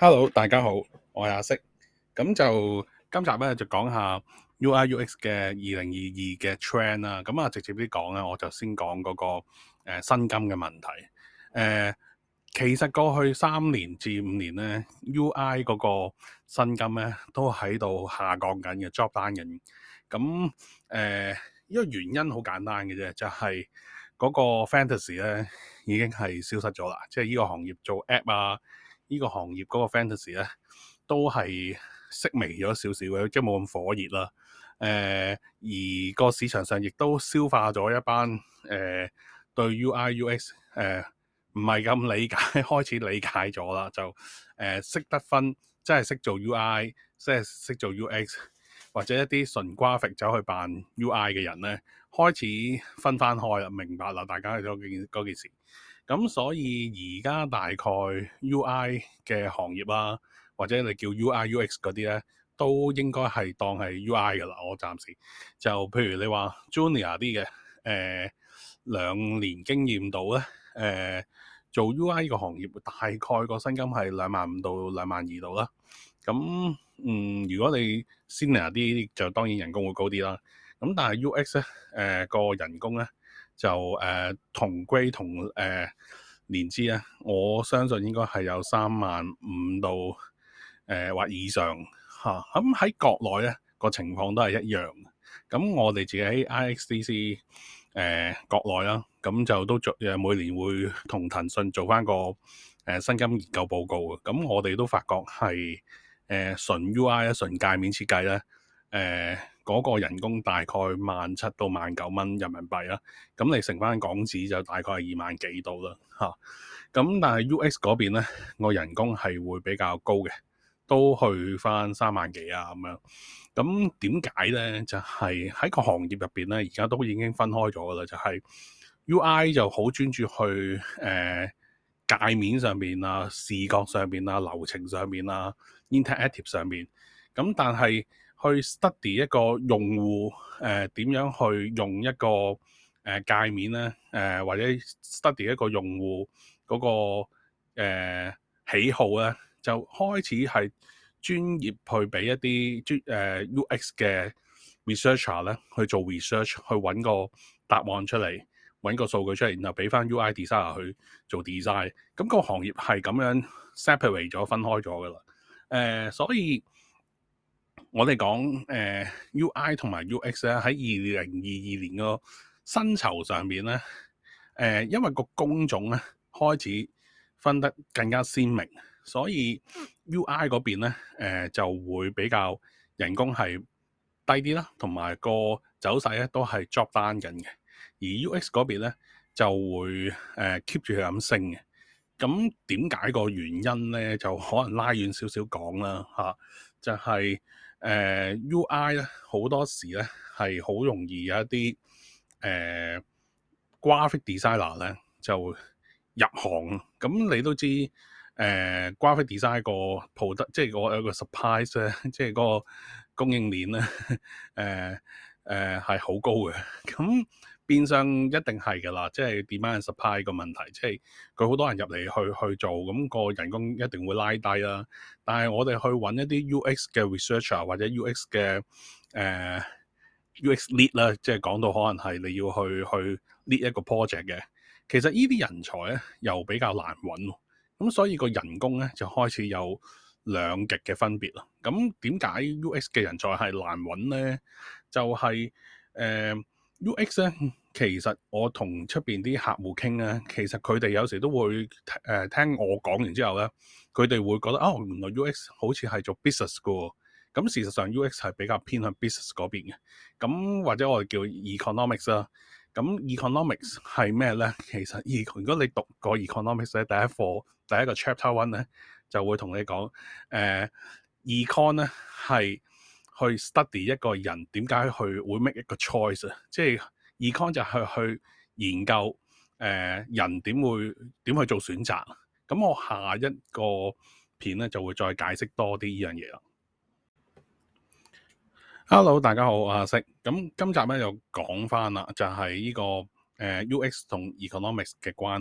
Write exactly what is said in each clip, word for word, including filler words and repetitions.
Hello，大家好，我係阿色。咁就今集咧就講下 U I U X 嘅二零二二嘅 trend 啦。咁啊，直接啲講咧，我就先講嗰、那個誒、呃、薪金嘅問題。誒、呃，其實過去三年至五年咧，U I 嗰個薪金咧都喺度下降緊嘅 ，drop down 緊。咁誒，呢、這個原因好簡單嘅啫，就係、是、嗰個 fantasy 咧已經係消失咗啦。即係呢個行業做 app 啊。呢個行業嗰個 fantasy 咧，都係式微咗少少嘅，即係冇咁火熱啦。誒、呃，而個市場上亦都消化咗一班誒、呃、對 U I U X 誒唔係咁理解，開始理解咗啦，就誒識、呃、得分，即係識做 U I，即係識做 U X，或者一啲純 graphic 走去扮 U I 嘅人咧，開始分翻開啦，明白啦，大家嗰件嗰件事。咁所以而家大概 U I 嘅行業啦，或者你叫 U I U X 嗰啲咧，都應該係當係 U I 噶啦。我暫時就譬如你話 Junior 啲嘅，誒、呃、兩年經驗到咧，誒、呃、做 U I 個行業大概個薪金係兩萬五到兩萬二度啦。咁嗯，如果你 Senior 啲就當然人工會高啲啦。咁但係 U X 咧，誒、呃、個人工咧。就誒、呃、同歸同誒、呃、年資咧，我相信應該係有三萬五到誒、呃、或以上嚇。咁、啊、喺國內咧個情況都係一樣。咁我哋自己喺 I X D C 誒、呃、國內啦，咁就都做誒每年會同騰訊做翻個誒、呃、薪金研究報告嘅。咁我哋都發覺係誒、呃、純 U I 咧、純界面設計咧，誒、呃。嗰個人工大概萬七到萬九蚊人民幣啦，咁你乘翻港紙就大概係二萬幾度啦嚇。咁但係 U X 嗰邊咧，個人工係會比較高嘅，都去翻三萬幾啊咁樣。咁點解咧？就係、是、喺個行業入邊咧，而家都已經分開咗噶啦。就係、是、U I 就好專注去誒、呃、界面上邊啊、視覺上邊啊、流程上邊啊、interactive 上邊。咁但係去 study 一個用戶誒點樣去用一個誒、呃、界面咧，誒、呃、或者 study 一個用戶嗰、那個、呃、喜好咧，就開始係專業去俾一啲專誒、呃、U X 嘅 researcher 咧去做 research，去揾個答案出嚟，揾個數據出嚟，然後俾翻 U I designer 去做 design。咁個行業係咁樣 separate 咗、分開咗噶啦。誒、呃，所以我哋講誒 U I 同埋 U X 咧，喺二零二二年個薪酬上面咧，誒、呃、因為個工種咧開始分得更加鮮明，所以 U I 嗰邊咧誒、呃、就會比較人工係低啲啦，同埋個走勢咧都係 drop down 緊嘅，而 U X 嗰邊咧就會誒 keep 住佢咁升嘅。咁點解個原因咧？就可能拉遠少少講啦嚇，就係、是。誒、呃、U I 咧好多時咧係好容易有一啲誒、呃、graphic designer 咧就入行，咁你都知誒、呃、graphic design 個 product 即係個有個 supply 咧，即係嗰個供應鏈咧誒誒係好高嘅，咁變相一定係㗎啦，即係 demand and supply 個問題，即係佢好多人入嚟去去做，咁、個人工一定會拉低啦。但係我哋去揾一啲 U X 嘅 researcher 或者 U X 嘅誒、呃、U X lead 啦，即係講到可能係你要去去 lead 一個 project 嘅，其實呢啲人才咧又比較難揾，咁所以個人工咧就開始有兩極嘅分別啦。咁點解 U X 嘅人才係難揾咧？就係、是、誒、呃、U X 咧，其實我同出邊啲客戶傾咧，其實佢哋有時都會誒、呃、聽我講完之後咧，佢哋會覺得哦，原來 U X 好似係做 business 嘅喎。咁事實上 U X 係比較偏向 business 嗰邊嘅。咁或者我哋叫 economics 啦。咁 economics 係咩咧？其實 e 如果你讀過 economics 咧，第一課第一個 chapter one 咧，就會同你講誒、呃、econ 咧係去 study 一個人點解去會 make 一個 choice 啊，即係 econ 就係去研究誒、呃、人點會點去做選擇。咁我下一個片咧就會再解釋多啲呢樣嘢啦。Hello，大家好，我係阿色。咁今集咧就講翻啦，就係、是、呢、這個誒、呃、U X 同 economics 嘅關係啦。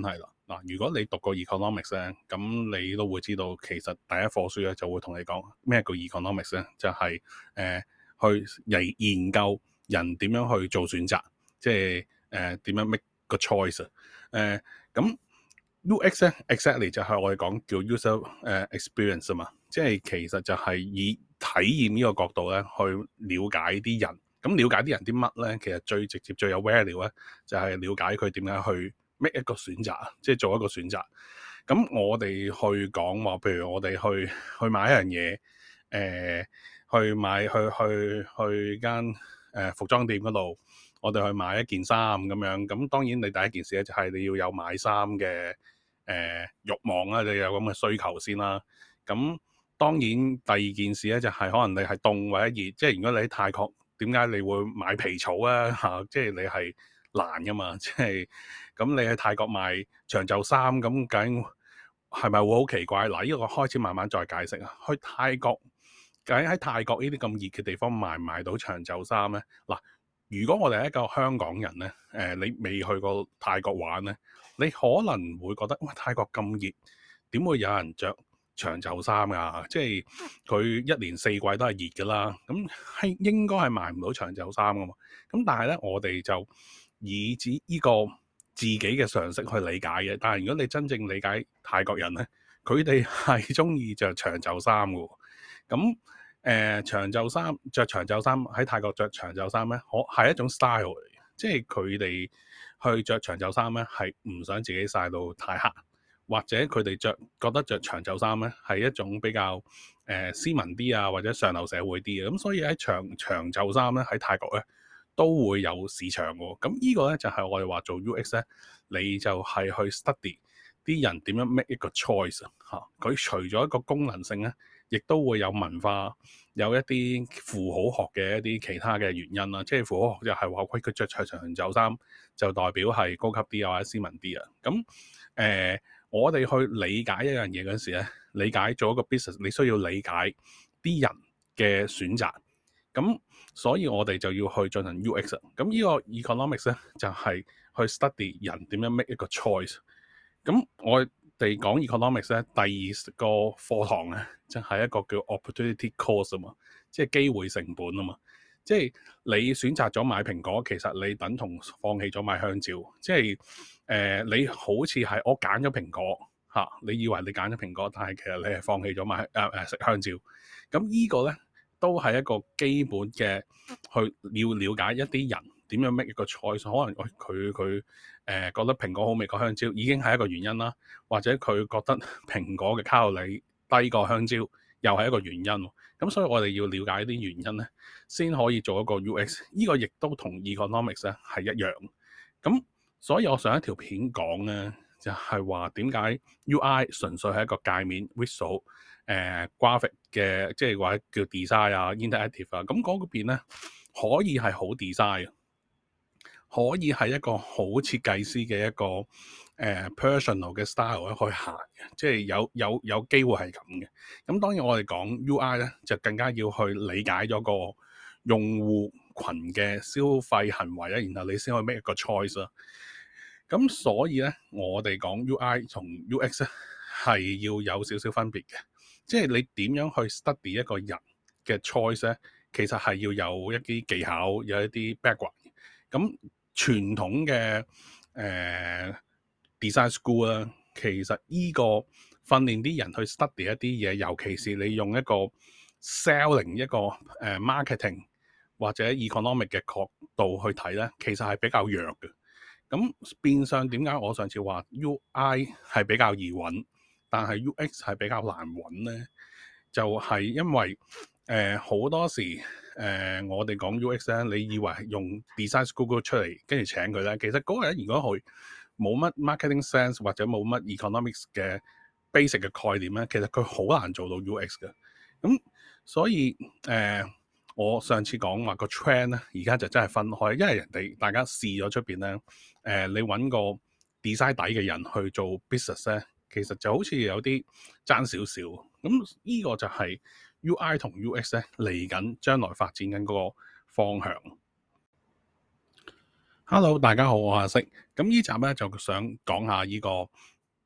嗱，如果你讀過 economics 咧，咁你都會知道其實第一課書咧就會同你講咩叫 economics 咧，就係、是、誒、呃、去嚟研究人點樣去做選擇，即係誒點樣 make 個 choice 啊、呃。誒咁 U X 咧 exactly 就係我哋講叫 user 誒 experience 啊嘛，即係其實就係以體驗呢個角度咧去了解啲人。咁了解啲人啲乜咧？其實最直接最有 value 咧，就係、是、了解佢點樣去 make 一個選擇，即係做一個選擇。咁我哋去講話，譬如我哋去去買一樣嘢，誒、呃，去買去去去間誒、呃、服裝店嗰度，我哋去買一件衫咁樣。咁當然你第一件事咧就係你要有買衫嘅誒慾望啦，你有咁嘅需求先啦。咁當然第二件事咧就係、是、可能你係凍或者熱，即係如果你喺泰國。點解你會買皮草啊？嚇、啊，即係你係難噶嘛，即係咁你喺泰國買長袖衫，咁究竟係咪會好奇怪？嗱、啊，呢、這個開始慢慢再解釋啊。去泰國，究竟喺泰國呢啲咁熱嘅地方買唔買到長袖衫咧？嗱、啊，如果我哋係一個香港人咧，誒、呃，你未去過泰國玩咧，你可能會覺得哇，泰國咁熱，點會有人着長袖衫啊？即係佢一年四季都係熱㗎啦，咁係應該係買唔到長袖衫㗎嘛。咁但係咧，我哋就以至呢個自己嘅常識去理解嘅。但係如果你真正理解泰國人咧，佢哋係中意着長袖衫㗎。咁誒、呃、長袖衫着長袖衫喺泰國着長袖衫咧，可係一種 style 嚟嘅，即係佢哋去着長袖衫咧係唔想自己曬到太黑。或者佢哋着覺得着長袖衫咧係一種比較誒、呃、斯文啲啊，或者上流社會啲嘅，咁所以喺長長袖衫咧喺泰國咧都會有市場嘅。咁呢個咧就係、是、我哋話做 U X 咧，你就係去 study 啲人點樣 make 一個 choice 啊。佢除咗一個功能性咧，亦都會有文化，有一啲符號學嘅一啲其他嘅原因啦。即係符號學就係話佢佢著長長袖衫就代表係高級啲啊，或者斯文啲啊。咁誒。呃我哋去理解一樣嘢嗰時咧，理解做一個 business，你需要理解啲人嘅選擇。咁所以我哋就要去進行 U X。咁呢個 economics 咧就係、是、去 study 人點樣 make 一個 choice。咁我哋講 economics 咧，第二個課堂咧就係、是、一個叫 opportunity cost 啊嘛，即係機會成本啊嘛。即係你選擇咗買蘋果，其實你等同放棄咗買香蕉。即係誒、呃，你好似係我揀咗蘋果嚇、啊，你以為你揀咗蘋果，但係其實你係放棄咗買誒誒食香蕉。咁呢個咧都係一個基本嘅去要了解一啲人點樣 make 一個 choice。可能佢佢誒覺得蘋果好味過香蕉，已經係一個原因啦。或者佢覺得蘋果嘅卡路里低過香蕉，又係一個原因。咁所以我哋要了解啲原因咧，先可以做一個 U X。呢個亦都同 economics 咧係一樣。咁所以我上一條片講咧，就係話點解 U I 純粹係一個界面 visual 誒、呃、graphic 嘅，即係或者叫 design 啊 interactive 啊。咁嗰邊咧可以係好 design，可以係一個好設計師嘅一個誒、呃、personal 嘅 style 咧去行嘅，即係有有有機會係咁嘅。咁當然我哋講 U I 咧，就更加要去理解咗個用戶群嘅消費行為咧，然後你先可以 make 一個 choice 啦。咁所以咧，我哋講 U I 同 U X 咧係要有少少分別嘅，即係你點樣去 study 一個人嘅 choice 咧，其實係要有一啲技巧，有一啲 background。咁傳統嘅誒、呃、design school 啦，其實依個訓練啲人去 study 一啲嘢，尤其是你用一個 selling 一個誒、呃、marketing 或者 economic 嘅角度去睇咧，其實係比較弱嘅。咁變相點解我上次話 U I 係比較易揾，但係 U X 係比較難揾咧？就係、是、因為誒好、呃、多時誒、呃、我哋講 U X 咧，你以為用 design school 出嚟跟住請佢咧，其實嗰個人如果佢冇乜 marketing sense 或者冇乜 economics 嘅 basic 嘅概念咧，其實佢好難做到 U X 嘅。咁所以誒、呃，我上次講話個 trend 咧，而家就真係分開，因為人哋大家試咗出邊咧，誒、呃、你揾個 design 底嘅人去做 business 咧，其實就好似有啲爭少少。咁呢個就係 U I 同 U X 咧嚟緊將來發展緊嗰個方向。Hello， 大家好，我係阿色。咁呢集咧就想講下呢個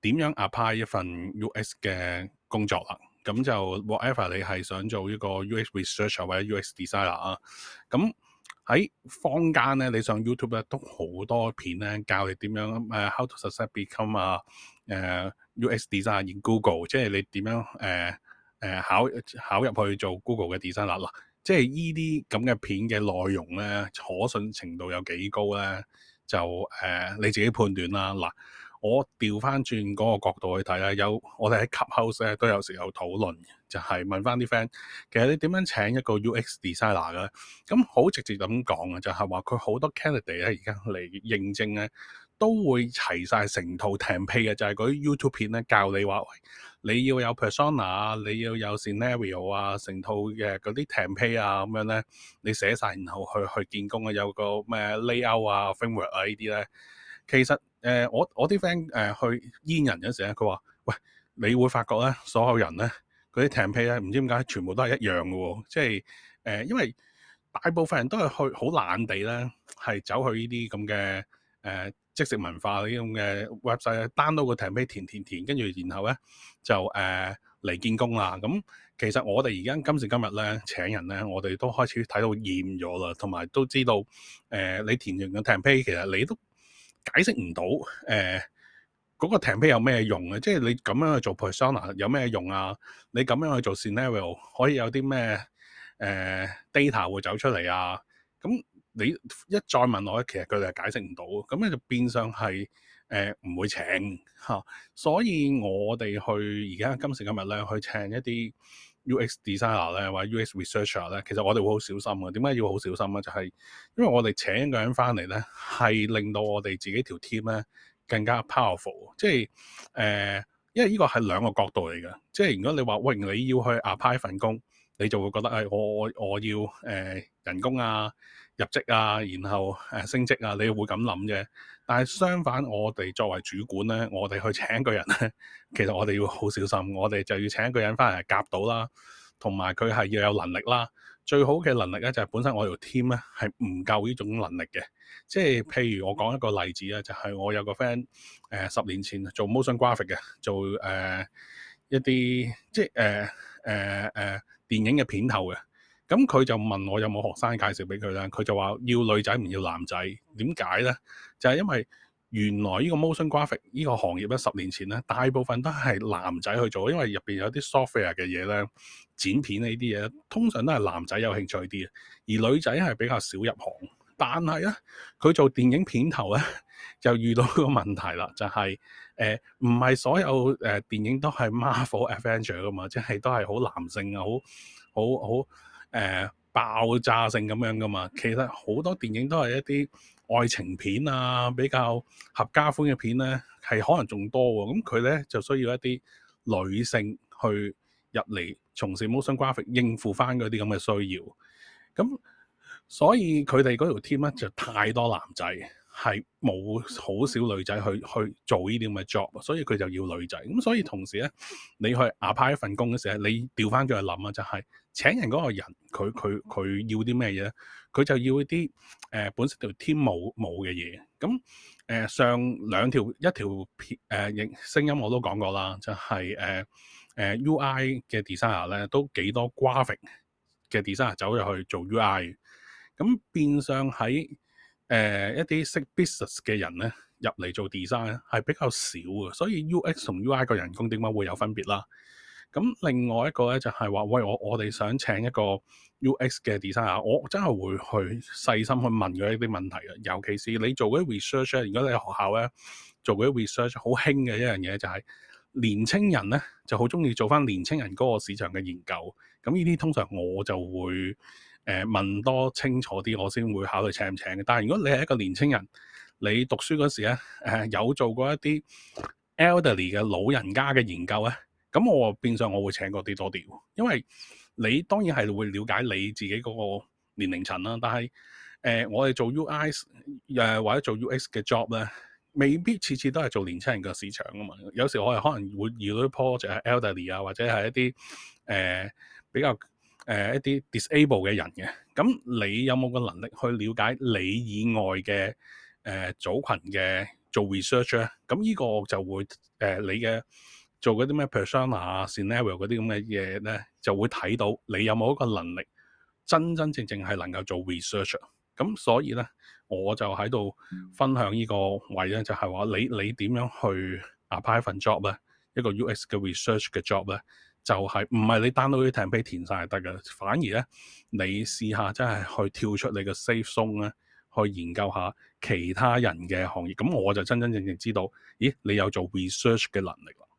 點樣 apply 一份 U X 嘅工作啦。咁就 whatever 你係想做一個 U X researcher 或者 U X designer 啊，咁喺坊間咧，你上 YouTube 咧都好多片咧教你點樣誒、uh, how to success become 啊、uh, 誒 U X designer in Google， 即係你點樣誒誒、uh, uh, 考考入去做 Google 嘅 designer 啦。即係依啲咁嘅片嘅內容咧，可信程度有幾高咧？就誒、uh, 你自己判斷啦。嗱，我調翻轉嗰個角度去睇啦，有我哋喺 Clubhouse 咧都有時有討論，就係、是、問翻啲 friend，其實你點樣請一個 U X designer 嘅？咁好直接咁講啊，就係話佢好多 candidate 咧而家嚟認證咧，都會齊晒成套 template 嘅，就係嗰啲 YouTube 片咧教你話，你要有 persona， 你要有 scenario 啊，成套嘅嗰啲 template 啊咁樣咧，你寫晒然後去去見工啊，有個咩 layout 啊 framework 啊呢啲咧，其實誒、呃、我我啲 friend 誒去煙人嗰時咧，佢話喂，你會發覺咧，所有人咧嗰啲 template 咧，唔知點解全部都係一樣嘅喎，即係誒、呃、因為大部分人都係去好懶地咧，係走去呢啲咁嘅誒即食文化呢啲咁嘅 website download 個 template 填填填，跟住然後咧就誒嚟、呃、見工啦。咁其實我哋而家今時今日咧請人咧，我哋都開始睇到厭咗啦，同埋都知道誒、呃、你填完個 template 其實你都解釋唔到誒嗰個 template 有咩用啊？即係你咁樣去做 persona 有咩用啊？你咁樣去做 scenario 可以有啲咩誒 data 會走出嚟啊？咁你一再問我咧，其實佢哋係解釋唔到，咁咧就變相係誒唔會請嚇、啊。所以我哋去而家今時今日咧去請一啲 U X designer 咧或者 U X researcher 咧，其實我哋會好小心嘅。點解要好小心咧？就係、是、因為我哋請一個人翻嚟咧，係令到我哋自己條 team 咧更加 powerful。即係誒、呃，因為呢個係兩個角度嚟嘅。即係如果你話喂，你要去 apply 份工，你就會覺得誒、哎，我我我要誒、呃、人工啊、入職啊，然後誒、呃、升職啊，你會咁諗啫。但係相反，我哋作為主管咧，我哋去請一個人咧，其實我哋要好小心，我哋就要請一個人翻嚟夾到啦，同埋佢係要有能力啦。最好嘅能力咧就係、是、本身我條 team 咧係唔夠呢種能力嘅。即係譬如我講一個例子啊，就係、是、我有個 friend 誒十年前做 motion graphic 嘅，做誒、呃、一啲即係誒誒誒電影嘅片頭嘅。咁佢就問我有冇學生介紹俾佢咧，佢就話要女仔唔要男仔。點解咧？就係、是、因為原來呢個 motion graphic 呢個行業咧，十年前咧大部分都係男仔去做，因為入邊有啲 software 嘅嘢咧，剪片呢啲嘢通常都係男仔有興趣啲嘅，而女仔係比較少入行。但係咧，佢做電影片頭咧就遇到個問題啦，就係誒唔係所有誒、呃、電影都係 Marvel Avenger 噶嘛，即係都係好男性啊，好好好。誒、呃、爆炸性咁樣噶嘛，其實好多電影都係一啲愛情片啊，比較合家歡嘅片咧，係可能仲多喎。咁佢咧就需要一啲女性去入嚟從事 motion graphic 應付翻嗰啲咁嘅需要。咁所以佢哋嗰條 team 咧就太多男仔，係冇好少女仔去去做呢啲咁嘅 job，所以佢就要女仔。咁所以同時咧，你去 apply 一份工嘅時候，你調翻轉去諗啊，就係、是、請人嗰個人，佢佢佢要啲咩嘢咧？佢就要一啲誒、呃、本身條 team 冇冇嘅嘢。咁誒、呃、上兩條一條片誒聲音我都講過啦，就係誒誒 U I 嘅 designer 咧都幾多 graphic 嘅 designer 走入去做 U I。咁變相喺誒、呃、一啲識 business 嘅人咧入嚟做 design 係比較少嘅，所以 U X 同 U I 個人工點解會有分別啦？咁另外一個咧就係、是、話，喂，我我哋想請一個 U X 嘅 designer，我真係會去細心去問佢一啲問題嘅。尤其是你做嗰啲 research 咧，如果你喺學校咧做嗰啲 research，好興嘅一樣嘢就係、是、年青人咧就好中意做翻年青人嗰個市場嘅研究。咁呢啲通常我就會。誒、呃、問多清楚啲，我先會考慮請唔請嘅。但係如果你係一個年青人，你讀書嗰時咧，誒、呃、有做過一啲 elderly 嘅老人家嘅研究咧，咁我變相我會請嗰啲多啲，因為你當然係會了解你自己嗰個年齡層啦。但係誒、呃、我哋做 U I 誒、呃、或者做 U X 嘅 job 咧，未必次次都係做年青人嘅市場啊嘛。有時我哋可能會遇到啲 project 係 elderly 啊，或者係一啲誒、呃、比較。誒、呃、一啲 disable 嘅人嘅，咁你有冇個能力去了解你以外嘅誒、呃、組群嘅做 research 咧，咁呢個就會誒、呃、你嘅做嗰啲咩 persona 啊、scenario 嗰啲咁嘅嘢咧，就會睇到你有冇一個能力真真正正係能夠做 research。咁所以咧，我就喺度分享呢個位咧，就係話你你點樣去 apply 份 job 咧，一個 U X 嘅 research 嘅 job 咧，就係唔係你 download 啲 template 填晒就得嘅，反而咧你試下真係去跳出你嘅 safe zone 咧，去研究下其他人嘅行業。咁我就真真正正知道，咦，你有做 research 嘅能力啦。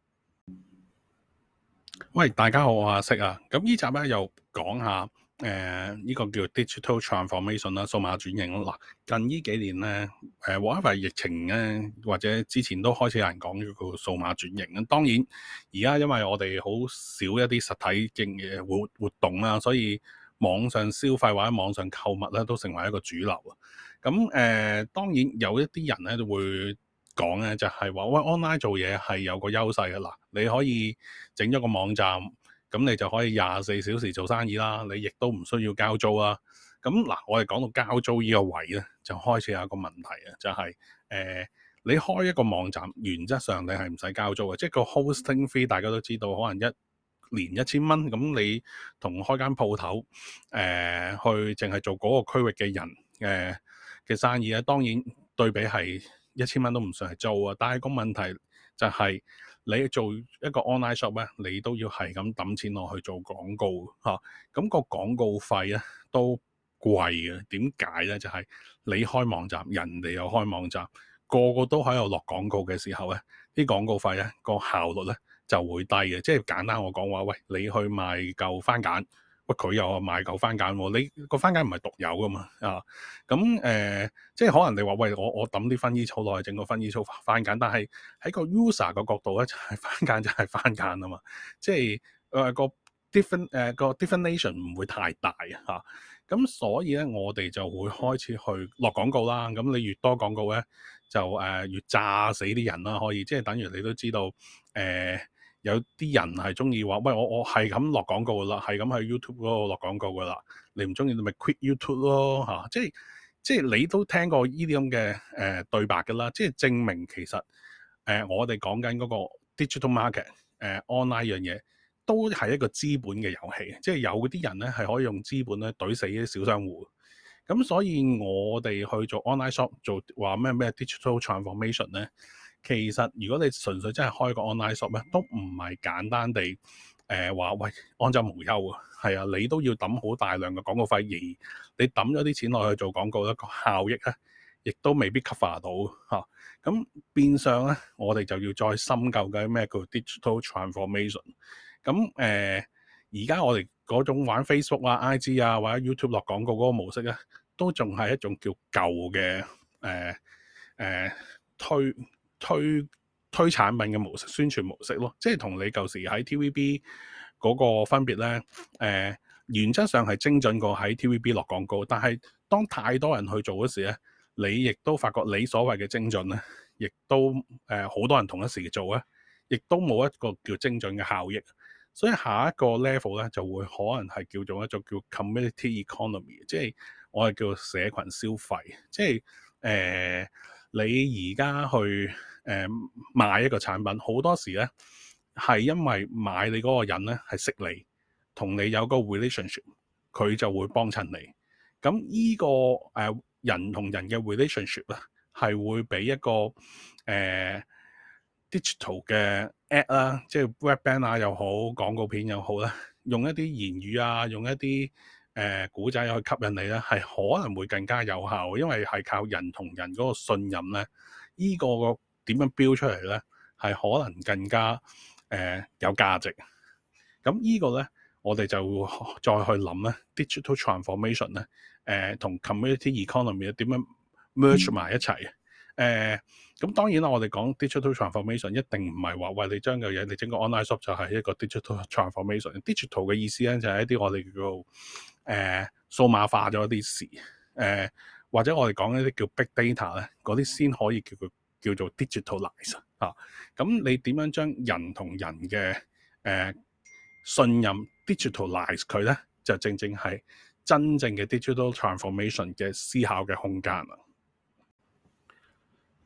喂，大家好，我阿色啊。咁呢集咧又講下。誒呢、呃這個叫 digital transformation 啦，數碼轉型啦。嗱，近呢幾年咧，誒或者係疫情咧，或者之前都開始有人講呢個數碼轉型。咁當然而家因為我哋好少一啲實體嘅嘅活活動啦，所以網上消費或者網上購物咧都成為一個主流啊。咁誒、呃、當然有一啲人咧都會講咧，就係話喂 online 做嘢係有個優勢嘅嗱，你可以整咗個網站。咁你就可以廿四小時做生意啦，你亦都唔需要交租啦。咁嗱，我哋講到交租呢個位咧，就開始有一個問題啊，就係、是、誒、呃、你開一個網站，原則上你係唔使交租嘅，即係個 hosting fee 大家都知道，可能一年一千蚊，咁你同開間鋪頭誒去淨係做嗰個區域嘅人誒嘅、呃、生意咧，當然對比係一千蚊都唔算係租啊，但係個問題就係、是。你做一個 online shop 咧，你都要係咁抌錢落去做廣告嚇，咁、啊那個廣告費咧都貴嘅。點解咧？就係、是、你開網站，人哋又開網站，個個都喺度落廣告嘅時候咧，啲廣告費咧個效率咧就會低嘅。即係簡單我講話，喂，你去賣嚿番梘。喂，佢又賣嚿番梘喎，你個番梘唔係獨有噶嘛啊？咁誒、呃，即係可能你話喂，我我抌啲薰衣草落去整個薰衣草番梘，但係喺個 user 個角度咧，就係、是、番梘就係番梘啊嘛，即係誒、呃、個 different 誒、呃、個 definition 唔會太大啊。咁所以咧，我哋就會開始去落廣告啦。咁你越多廣告咧，就誒、呃、越炸死啲人啦。可以，即係等於你都知道誒。呃有啲人係中意話，喂，我我係咁落廣告噶啦，係咁喺 YouTube 嗰度落廣告噶啦。你唔中意你咪 quit YouTube 咯嚇、啊。即係即係你都聽過呢啲咁嘅誒對白噶啦。即係證明其實誒、呃、我哋講緊嗰個 digital market 誒、呃、online 樣嘢都係一個資本嘅遊戲。即係有啲人咧係可以用資本咧懟死啲小商戶。咁所以我哋去做 online shop 做話咩咩 digital transformation 咧。其實如果你純粹真係開個 online shop 咧，都唔係簡單地誒話、呃、喂安枕無憂啊，係啊，你都要抌好大量嘅廣告費，而你抌咗啲錢落去做廣告咧，個效益咧亦都未必 cover 到嚇。咁、啊、變相咧，我哋就要再深究嘅咩叫 digital transformation。咁誒而家我哋嗰種玩 Facebook 啊、I G 啊或者 YouTube 落廣告嗰個模式咧，都仲係一種叫舊嘅誒誒推。推推產品嘅模式、宣傳模式咯，即係同你舊時喺 T V B 嗰個分別咧，誒、呃、原則上係精準過喺 T V B 落廣告，但係當太多人去做嗰時咧，你亦都發覺你所謂嘅精準咧，亦都誒好、呃、多人同一時做咧，亦都冇一個叫精準嘅效益，所以下一個 level 咧就會可能係叫做一種叫 community economy， 即係我係叫社群消費，即係誒。呃你而家去誒、呃、買一個產品，好多時咧係因為買你嗰個人咧係識你，同你有個 relationship，佢就會幫襯你。咁依、這個誒、呃、人同人嘅 relationship 咧，係會俾一個誒、呃、digital 嘅 ad 啦，即係 web banner 又好，廣告片又好啦，用一啲言語啊，用一啲誒古仔去吸引你咧，係可能會更加有效，因為係靠人同人嗰個信任咧，依、這個點樣標出嚟咧，係可能更加誒、呃、有價值。咁依個咧，我哋就再去諗咧，digital transformation 咧，誒、呃、同 community economy 咧點樣 merge 埋一齊。誒、呃、咁當然啦，我哋講 digital transformation 一定唔係話喂，你將個嘢你整個 online shop 就係一個 digital transformation。digital 嘅意思咧就係、是、一啲我哋叫做誒、呃、數碼化咗啲事，誒、呃、或者我哋講一啲叫 big data 咧，嗰啲先可以叫佢叫做 digitalize 啊。咁你點樣將人同人嘅誒、呃、信任 digitalize 佢咧，就正正係真正嘅 digital transformation 嘅思考嘅空間啦。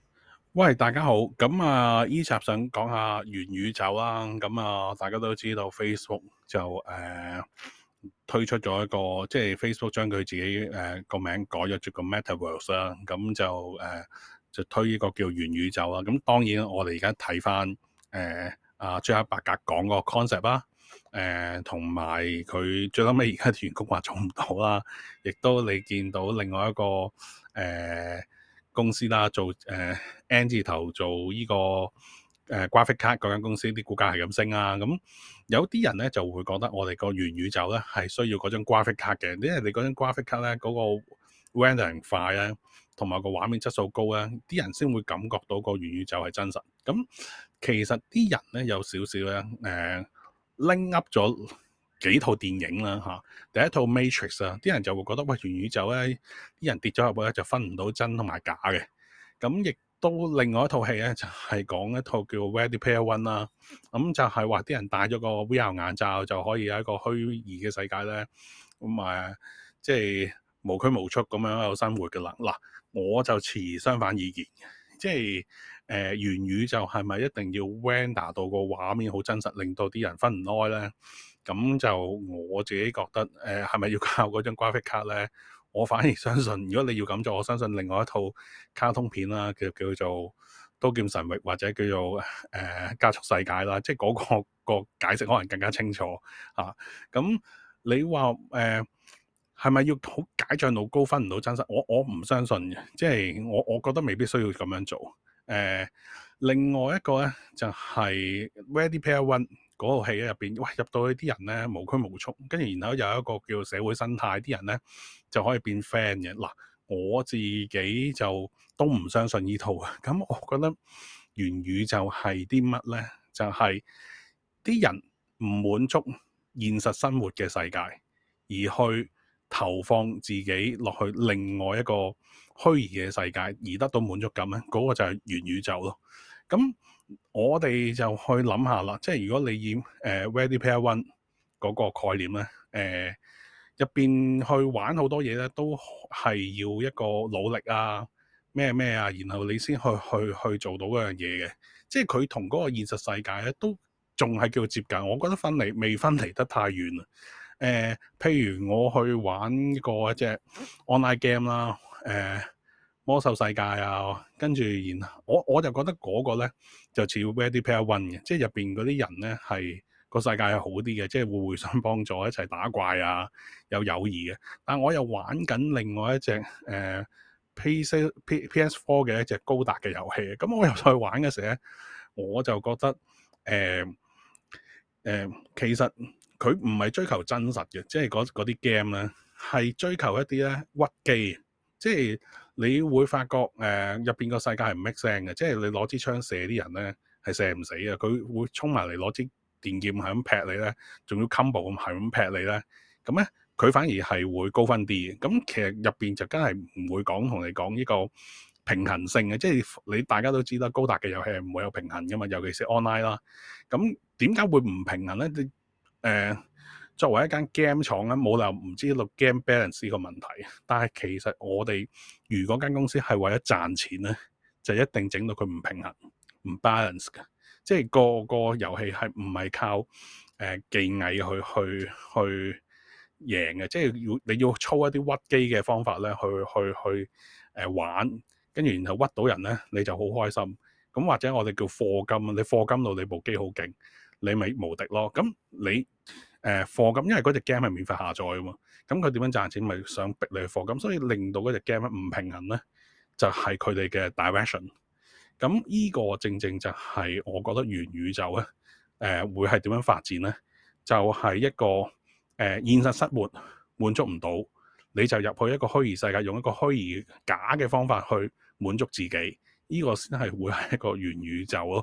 喂，大家好。咁啊，依集想講下元宇宙啦。咁啊，大家都知道 Facebook 就誒、呃、推出咗一個，即係 Facebook 將佢自己誒個、呃、名改咗做個 Metaverse 啦。咁就誒、呃、就推呢個叫元宇宙啦。咁當然我哋而家睇翻誒阿朱克伯格講個 concept 啦。誒同埋佢最後尾而家員工話做唔到啦，亦都你見到另外一個誒。呃公司啦，做誒、呃、N 字頭做呢、這個誒、呃、graphic card 嗰間公司啲股價係咁升啊。咁有啲人咧就會覺得我哋個元宇宙咧係需要嗰張 graphic card 嘅，因為你嗰張 graphic card 咧嗰、那個 rendering 快咧，同埋個畫面質素高咧，啲人先會感覺到個元宇宙係真實。咁其實啲人咧有少少咧誒拎 up 咗幾套電影啦嚇，第一套 Matrix 啊，啲人就會覺得喂，元宇宙咧，啲人跌咗入去咧就分唔到真同埋假嘅。咁亦都另外一套戲咧就係、是、講一套叫 Ready Player One 啦。咁就係話啲人戴咗個 V R 眼罩就可以喺一個虛擬嘅世界咧，咁啊即係無拘無束咁樣喺度生活嘅啦。嗱，我就持相反意見，即係誒、呃、元宇宙係咪一定要 render 到個畫面好真實，令到啲人分唔開咧？咁就我自己覺得，誒係咪要靠嗰張 graphic card 咧？我反而相信，如果你要咁做，我相信另外一套卡通片啦，叫叫做《刀劍神域》或者叫做誒、呃《加速世界》啦，即係嗰、嗰個、嗰個解釋可能更加清楚嚇。咁、啊、你話誒係咪要好解像度高分唔到真實？我我唔相信嘅，即係我我覺得未必需要咁樣做。誒、呃，另外一個咧就係、是、Ready Player One。嗰套戲入邊，喂入到去啲人咧無拘無束，跟住然後有一個叫社會生態，啲人咧就可以變 friend 嘅。嗱，我自己就都唔相信呢套啊。咁我覺得元宇宙係啲乜咧？就係、是、啲人唔滿足現實生活嘅世界，而去投放自己落去另外一個虛擬嘅世界，而得到滿足感咧，嗰、那個就係元宇宙咯。咁我哋就去諗下啦，即係如果你以誒、呃、Ready Player One 嗰個概念咧，誒入邊去玩好多嘢咧，都係要一個努力啊，咩咩啊，然後你先去去去做到嗰樣嘢嘅。即係佢同嗰個現實世界咧，都仲係叫接近。我覺得分離未分離得太遠啦。誒、呃，譬如我去玩過一隻 online game 啦，誒、呃。魔獸世界啊，跟住然後我我就覺得嗰個咧就似 Ready Player One 嘅，即係入邊嗰啲人咧係個世界係好啲嘅，即係互互相幫助，一齊打怪啊，有友誼嘅。但我又玩緊另外一隻誒、呃、P C P S Four 嘅一隻高達嘅遊戲，咁我又再玩嘅時候咧，我就覺得誒誒、呃呃、其實佢唔係追求真實嘅，即係嗰啲 game 咧係追求一啲咧屈機。即係你會發覺誒入邊個世界係唔 make sense 嘅，即係你攞支槍射啲人咧係射唔死嘅，佢會衝埋嚟攞支電劍係咁劈你咧，仲要 combo 咁係咁劈你咧，咁咧佢反而係會高分啲嘅。咁其實入邊就真係唔會講同你講呢個平衡性嘅，即係你大家都知啦，高達嘅遊戲係唔會有平衡噶嘛，尤其是 online 啦。咁點解會唔平衡咧？你誒？呃作為一間 game 廠咧，冇理由唔知道 game balance 呢個問題。但係其實我哋如果間公司係為咗賺錢咧，就一定整到佢唔平衡、唔 balance 嘅。即係個個遊戲係唔係靠誒、呃、技藝去去去贏嘅？即係要你要操一啲屈機嘅方法咧，去去去誒、呃、玩，跟住然後屈到人咧，你就好開心。咁或者我哋叫課金，你課金到你部機好勁，你咪無敵咯。咁你誒課金，因為嗰隻 game 係免費下載啊嘛，咁佢點樣賺錢？咪想逼你去課金，所以令到嗰隻 game 唔平衡咧，就係佢哋嘅 direction。咁呢個正正就係我覺得元宇宙咧，誒、呃、會係點樣發展咧？就係、是、一個誒、呃、現實生活滿足唔到，你就入去一個虛擬世界，用一個虛擬假嘅方法去滿足自己，呢、這個先係會係一個元宇宙咯。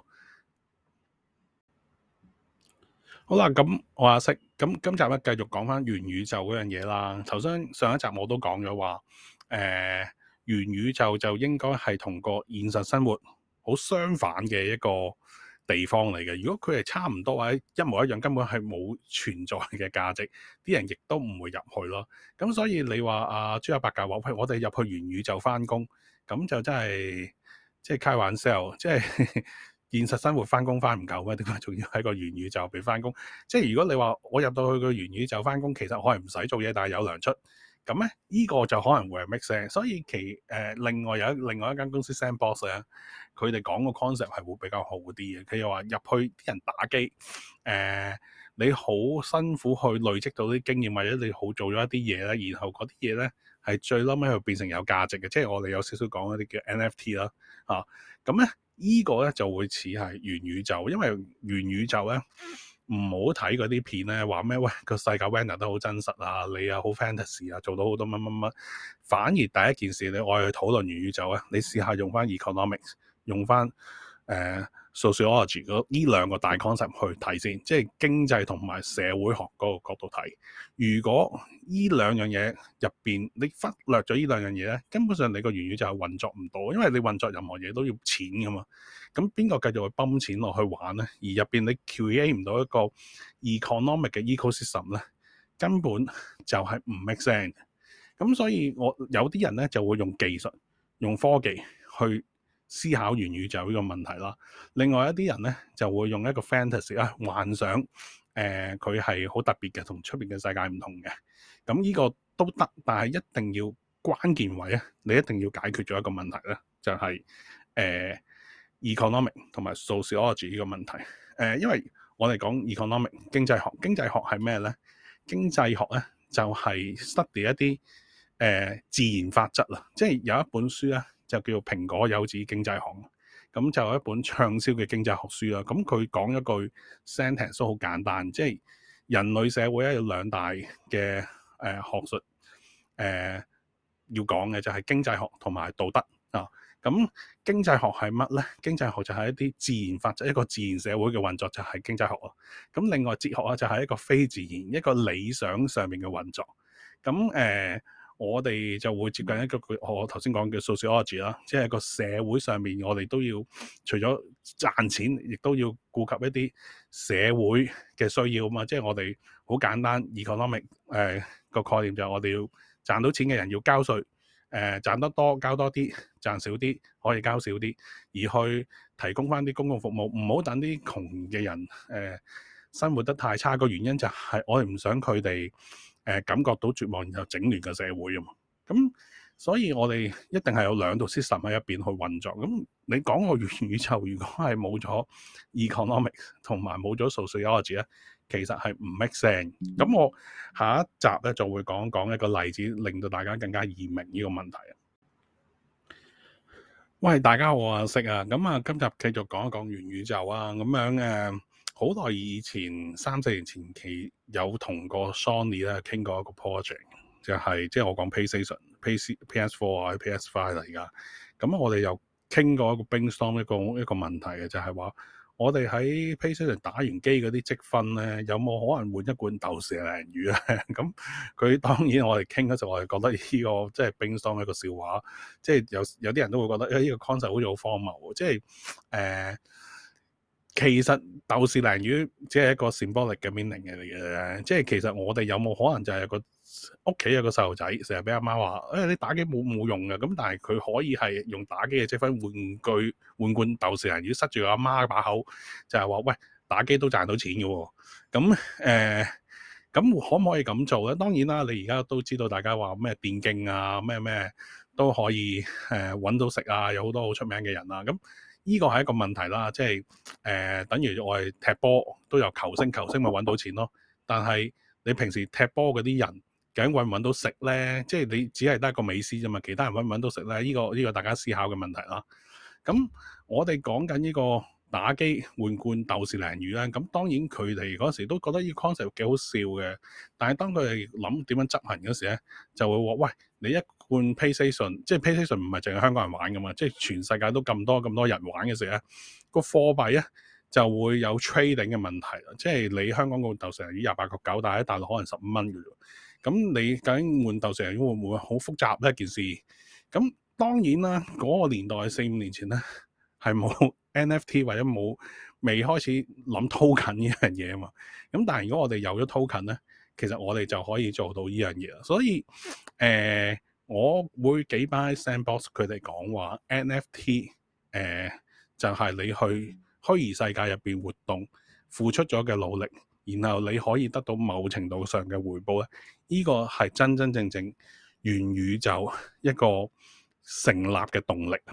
好啦，咁我阿識，咁今集咧繼續講翻元宇宙嗰樣嘢啦。頭先上一集我都講咗話，誒、呃、元宇宙就應該係同個現實生活好相反嘅一個地方嚟嘅。如果佢係差唔多或者一模一樣，根本係冇存在嘅價值，啲人亦都唔會入去咯。咁所以你話阿朱克伯格話，喂，我哋入去元宇宙翻工，咁就真係即係開玩笑，即係現實生活翻工翻唔夠咩？點解仲要喺個元宇宙俾翻工？即係如果你話我入到去個元宇宙翻工，其實可能唔使做嘢，但係有糧出。咁咧，呢、這個就可能會係 make sense。所以其誒、呃、另外有一另外一間公司 Sandbox 咧，佢哋講個 concept 係會比較好啲嘅。佢又話入去啲人打機，誒、呃、你好辛苦去累積到啲經驗，或者你好做咗一啲嘢咧，然後嗰啲嘢咧係最嬲尾去變成有價值嘅。即係我哋有少少講一啲叫 N F T 啦，啊咁咧呢個咧就會似係元宇宙，因為元宇宙咧。唔好睇嗰啲片咧，話咩喂個世界 render 得好真實啊，你又好 fantasy 啊，做到好多乜乜乜。反而第一件事你我去討論元宇宙啊，你試下用翻 economics， 用翻誒、呃、sociology 嗰呢兩個大 concept 去睇先，即係經濟同埋社會學嗰個角度睇。如果呢兩樣嘢入邊你忽略咗呢兩樣嘢咧，根本上你個元宇宙係運作唔到，因為你運作任何嘢都要錢噶嘛。咁邊個繼續去泵錢落去玩咧？而入邊你 create 唔到一個 economic 嘅 ecosystem 咧，根本就係唔 make sense。咁所以我有啲人咧就會用技術、用科技去思考元宇宙呢個問題啦。另外一啲人咧就會用一個 fantasy 啊幻想，誒佢係好特別嘅，同出邊嘅世界唔同嘅。咁呢個都得，但係一定要關鍵位啊，你一定要解決咗一個問題咧，就係、是、誒。呃 economic 同埋 sociology 呢個問題，誒、呃，因為我哋講 economic 經濟學，經濟學係咩咧？經濟學咧就係、是、study 一啲誒、呃、自然法則啦，即係有一本書咧就叫做《蘋果有子經濟學》，咁就有一本暢銷嘅經濟學書啦。咁佢講一句 sentence 都好簡單，即係人類社會咧有兩大嘅誒、呃、學術誒、呃、要講嘅就係經濟學同埋道德啊。咁經濟學係乜咧？經濟學就係一啲自然法則，一個自然社會嘅運作就係經濟學咯。咁另外哲學啊就係一個非自然、一個理想上面嘅運作。咁誒、呃，我哋就會接近一個我頭先講嘅 sociology 啦，即係個社會上面我哋都要除咗賺錢，亦都要顧及一啲社會嘅需要啊嘛。即係我哋好簡單 economic 誒、呃、個概念就係我哋要賺到錢嘅人要交稅。誒、呃、賺得多交多啲，賺少啲可以交少啲，而去提供翻啲公共服務，唔好等啲窮嘅人誒、呃、生活得太差。個原因就係我哋唔想佢哋誒感覺到絕望，然後整亂個社會啊嘛。咁所以我哋一定係有兩套 system 喺入邊去運作。咁你講個元宇宙，如果係冇咗 economics 同埋冇咗 sociology 咧，其實係唔 make sense。咁我下一集咧就會講講一個例子，令到大家更加易明呢個問題。喂，大家好啊，識啊，咁啊，今集繼續講一講元宇宙啊，咁樣誒，好、呃、耐以前三四年前期有同個 Sony 咧傾過一個 project，就係、是、即係我講 PlayStation、P C、P S Four 啊、P S Five 啦而家。咁我哋又傾過一個 brainstorm 一個一個問題嘅，就係、是、話。我哋喺 PlayStation 打完機嗰啲積分咧，有冇可能換一罐豆豉鯪魚咧？咁佢當然我哋傾嗰時候，我哋覺得呢、這個即係 brainstorm 一個笑話，即係有有啲人都會覺得，誒、哎、呢、這個 concept 好似好荒謬，即係誒、呃、其實豆豉鯪魚只係一個 symbolic 嘅 meaning 嚟嘅，即係其實我哋有冇可能就係有個屋企有個細路仔，成日俾阿媽話，誒、哎、你打機冇冇用嘅，咁但係佢可以係用打機嘅積分換句換罐豆豉鯪魚塞住阿媽把口，就係、是、話喂打機都賺到錢嘅喎，咁誒咁可唔可以咁做咧？當然啦，你而家都知道大家話咩電競啊咩咩都可以誒揾、呃、到食啊，有好多好出名嘅人啊，咁呢個係一個問題啦，即係誒、呃、等於我哋踢波都有球星，球星咪揾到錢咯，但係你平時踢波嗰啲人。究竟揾唔揾到食咧？即係你只係得一個美斯啫嘛，其他人揾唔揾到食咧？呢、這個呢、這個大家思考嘅問題啦。咁我哋講緊呢個打機換罐豆豉鯪魚咧，咁當然佢哋嗰時都覺得呢個 concept 幾好笑嘅。但係當佢哋諗點樣執行嗰時咧，就會話：喂，你一罐 PlayStation，即係 PlayStation 唔係淨係香港人玩噶嘛，即係全世界都咁多咁多人玩嘅時咧，個貨幣咧就會有 trading 嘅問題啦。即係你香港個豆豉鯪魚廿八個九，但係喺大陸可能十五蚊嘅啫。咁你究竟換豆豉鯪魚會唔會好複雜呢一件事？咁當然啦，嗰、那個年代四五年前咧係冇 N F T 或者冇未開始諗 token 呢樣嘢啊嘛。咁但係如果我哋有咗 token 咧，其實我哋就可以做到呢樣嘢。所以誒、呃，我會幾 buy Sandbox 佢哋講話 N F T 誒、 呃、就係、是、你去虛擬世界入邊活動付出咗嘅努力，然後你可以得到某程度上嘅回報咧，呢、這個係真真正正元宇宙一個成立嘅動力。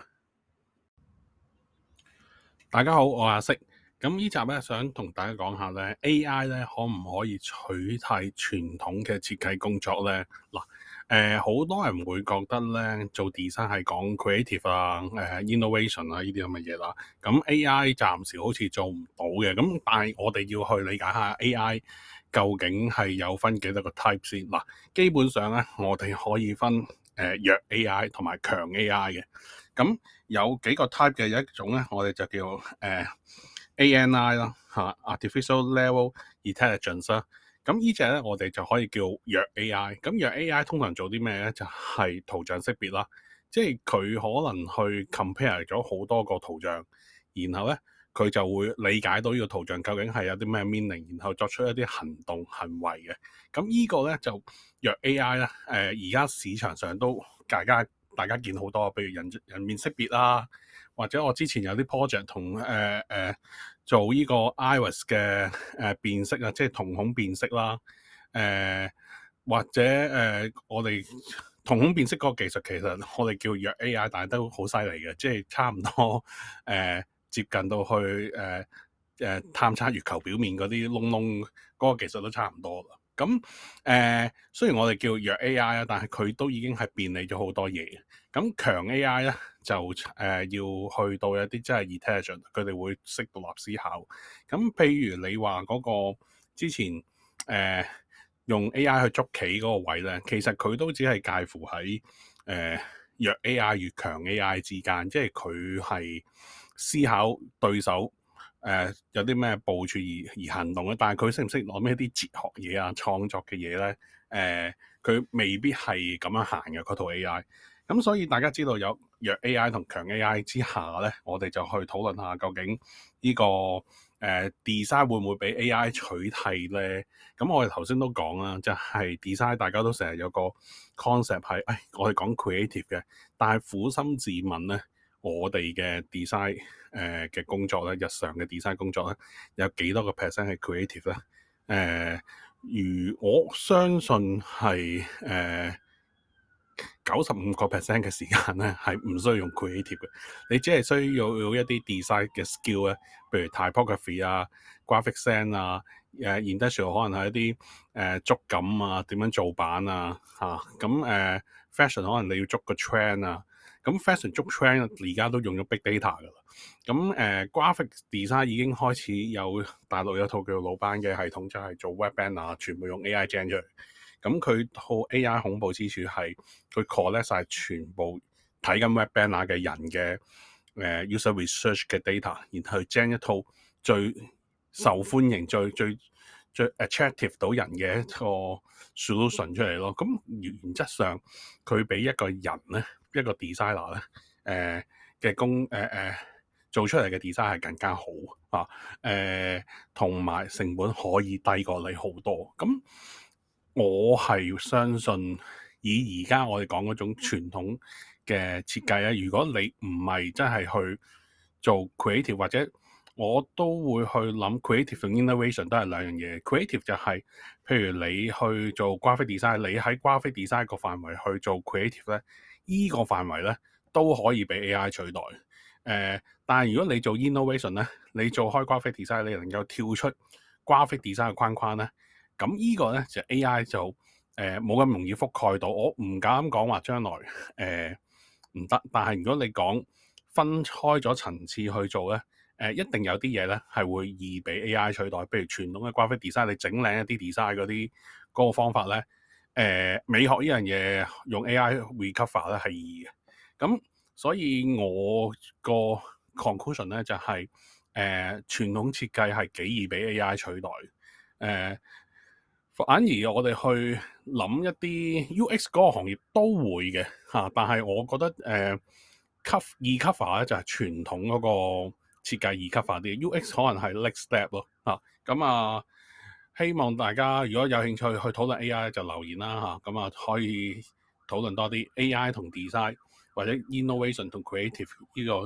大家好，我係阿色。咁呢集咧想同大家講下咧 A I 咧可唔可以取替傳統嘅設計工作咧？嗱，誒好多人會覺得咧做 design 係講 creative 啊、誒、呃、innovation 啊呢啲咁嘅嘢啦。咁 A I 暫時好似做唔到嘅。咁但係我哋要去理解下 A I 究竟係有分幾多個 type 先。嗱，基本上咧我哋可以分誒、呃、弱 A I 同埋強 A I 嘅。咁有幾個 type 嘅，有一種咧我哋就叫誒、呃A N I 啦嚇 Artificial Level Intelligence 啦，咁呢隻咧我哋就可以叫弱 A I。咁弱 A I 通常做啲咩咧？就係、是、圖像識別啦，即係佢可能去 compare 咗好多個圖像，然後咧佢就會理解到呢個圖像究竟係有啲咩 meaning，然後作出一啲行動行為嘅。咁呢個咧就弱 A I 咧，誒而家市場上都大家大家見好多，譬如人人面識別啦。或者我之前有啲 project 同誒誒做呢個 iris 嘅誒辨識啊，即係瞳孔辨識啦。誒、呃、或者誒、呃、我哋瞳孔辨識嗰個技術其實我哋叫弱 A I，但係都好犀利嘅，即係差唔多誒、呃、接近到去誒誒、呃、探測月球表面嗰啲窿窿嗰個技術都差唔多啦。咁誒、呃、雖然我哋叫弱 A I 啊，但係佢都已經係便利咗好多嘢。咁強 A I 咧就誒、呃、要去到一啲真係 intelligent，佢哋會識獨立思考。咁譬如你話嗰個之前誒、呃、用 A I 去捉棋嗰個位咧，其實佢都只係介乎喺誒、呃、弱 A I 與強 A I 之間，即係佢係思考對手誒、呃、有啲咩部署而而行動咧。但係佢識唔識攞咩啲哲學嘢啊、創作嘅嘢咧？誒、呃，佢未必係咁樣行嘅嗰套 A I。咁所以大家知道有弱 A I 同強 A I 之下咧，我哋就去討論下究竟呢、這個誒、呃、design 會唔會俾 A I 取替咧？咁我哋頭先都講啦，就係、是、design 大家都成日有個 concept 係，誒我哋講 creative 嘅，但係苦心自問咧，我哋嘅 design 誒嘅工作咧，日常嘅 design 工作咧，有幾多個 percent 係 creative 咧？誒、呃，如我相信係誒。呃九十五個 percent 嘅時間咧，係唔需要用 creative 嘅，你只係需要有一啲 design 嘅 skill 咧，譬如 typography 啊、graphic design 啊、誒 industrial 可能係一啲誒、呃、觸感啊、點樣做版啊嚇，咁、啊、誒 fashion 可能你要捉個 trend 啊，咁 fashion 捉 trend 而家都用咗 big data 噶啦，咁誒、呃、graphic design 已經開始有大陸有套叫魯班嘅系統，就係、是、做 web banner 全部用 A I gen 出嚟。咁佢套 A I 恐怖之處係佢 collect 晒全部睇緊 web banner 嘅人嘅誒、呃、user research 嘅 data，然後 gen 一套最受歡迎、最最最 attractive 到人嘅一個 solution 出嚟咯。咁原則上佢比一個人咧，一個 designer 咧誒嘅工誒誒、呃、做出嚟嘅 design 係更加好啊，誒同埋成本可以低過你好多。咁我係相信以而家我哋講嗰種傳統嘅設計咧，如果你唔係真係去做 creative，或者我都會去諗 creative 同 innovation 都係兩樣嘢。creative 就係、是、譬如你去做 graphic design，你喺 graphic design 個範圍去做 creative 咧，依、這個範圍咧都可以俾 A I 取代。誒、呃，但係如果你做 innovation 咧，你做開 graphic design，你能夠跳出 graphic design 嘅框框咧。咁呢個咧就 A I 就誒冇咁容易覆蓋到，我唔敢講話將來誒唔得，但係如果你講分開咗層次去做咧，誒、呃、一定有啲嘢咧係會易俾 A I 取代，譬如傳統嘅 graphic design，你整靚一啲 design 嗰啲嗰個方法咧，誒、呃、美學呢樣嘢用 A I recover 咧係易嘅，咁所以我個 conclusion 咧就係、是、誒、呃、傳統設計係幾易俾 A I 取代，誒、呃。反而我哋去諗一啲 U X 嗰個行業都會嘅嚇，但係我覺得誒 cover 易 cover 咧就係傳統嗰個設計易 cover 啲 U X 可能係 next step 咯嚇。咁啊，希望大家如果有興趣去討論 A I 就留言啦嚇，咁啊可以討論多啲 A I 同 design 或者 innovation 同 creative 呢個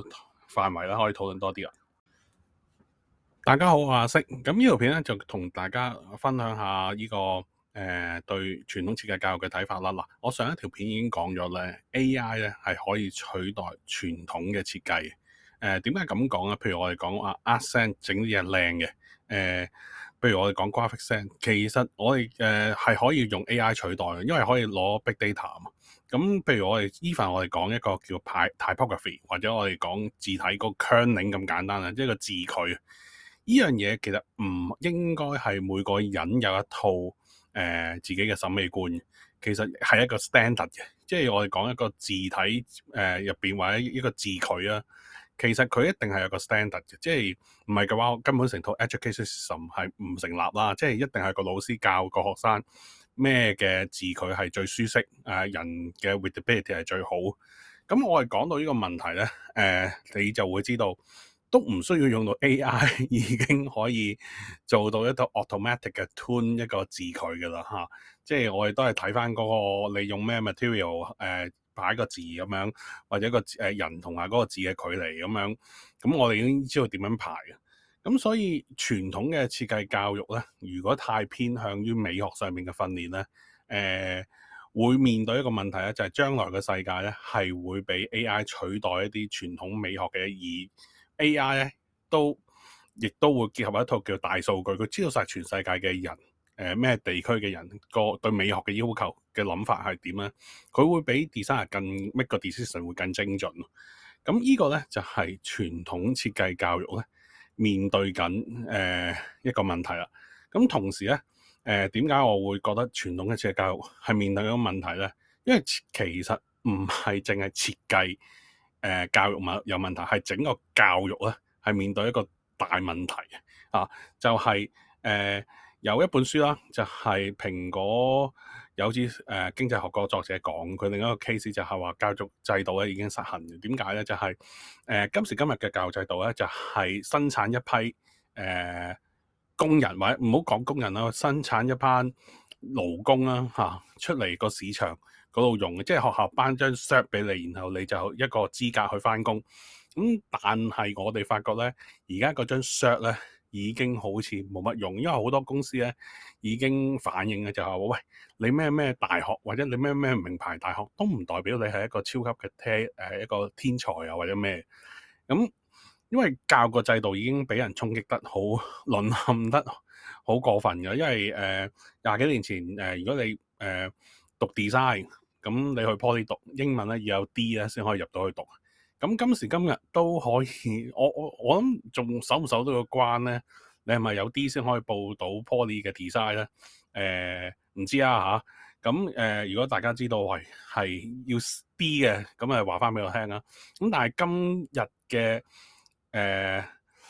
範圍啦，可以討論多啲啦。大家好，我係阿色。咁呢條片咧就同大家分享下呢、這個誒、呃、對傳統設計教育嘅睇法啦。嗱，我上一條片已經講咗咧，A I 咧係可以取代傳統嘅設計。誒點解咁講咧？譬如我哋講啊 Artsense 整啲嘢靚嘅，誒、呃，譬如我哋講 GraphicSense，其實我哋誒係可以用 A I 取代嘅，因為可以攞 Big Data 啊嘛。咁譬如我哋 even 我哋講一個叫 Typography，或者我哋講字體個 kerning 咁簡單啊，即係個字距。呢樣嘢其實唔應該係每個人有一套誒、呃、自己嘅審美觀，其實係一個 standard 嘅，即係我哋講一個字體誒入邊或者一個字距啊，其實佢一定係有個 standard 嘅，即係唔係嘅話，根本成套 education system 係唔成立啦，即係一定係個老師教個學生咩嘅字距係最舒適，誒、呃、人嘅 readability 係最好。咁我哋講到呢個問題咧，誒、呃、你就會知道。都唔需要用到 A I 已經可以做到一個 automatic 嘅 tune 一個字距㗎啦嚇，即係我哋都係睇翻嗰個你用咩 material 誒、呃、擺個字咁樣，或者個誒人同埋嗰個字嘅距離咁樣，咁我哋已經知道點樣排嘅。咁所以傳統嘅設計教育咧，如果太偏向於美學上面嘅訓練咧，誒、呃、會面對一個問題咧，就係、是、將來嘅世界咧係會俾 A I 取代一啲傳統美學嘅意義。A I 咧都亦都會結合一套叫大數據，佢知道晒全世界嘅人，誒、呃、咩地區嘅人個對美學嘅要求嘅諗法係點咧？佢會比 designer 更 make 個 decision 會更精準。咁呢個咧就係、是、傳統設計教育咧面對緊誒、呃、一個問題啦。咁同時咧誒點解我會覺得傳統嘅設計教育係面對緊個問題咧？因為其實唔係淨係設計。誒、呃、教育問有問題，係整個教育咧係面對一個大問題啊！就係、是、誒、呃、有一本書啦，就係、是、蘋果有啲誒、呃、經濟學個作者講，佢另一個 case 就係話教育制度咧已經失衡嘅。點解咧？就係、是、誒、呃、今時今日嘅教育制度咧，就係、是、生產一批誒、呃、工人，或者唔好講工人啦，生產一班勞工啦嚇、啊、出嚟個市場嗰度用嘅，即係學校頒張 cert 俾你，然後你就一個資格去返工。咁但係我哋發覺咧，而家嗰張 cert 咧已經好似冇乜用，因為好多公司咧已經反映嘅就係話，喂，你咩咩大學或者你咩咩名牌大學都唔代表你係一個超級嘅天誒一個天才啊或者咩。咁因為教育個制度已經俾人衝擊得好淪陷得好過分嘅，因為誒廿幾年前誒、呃、如果你誒、呃、讀 design。咁你去 Poly 讀英文咧要有 D 咧先可以入到去讀。咁今時今日都可以，我我我諗仲守唔守到個關咧？你係咪有 D 先可以報到 Poly 嘅 design 咧？誒、呃、唔知啊嚇。咁誒、呃，如果大家知道係係要 D 嘅，咁誒話翻俾我聽啊。咁但係今日嘅誒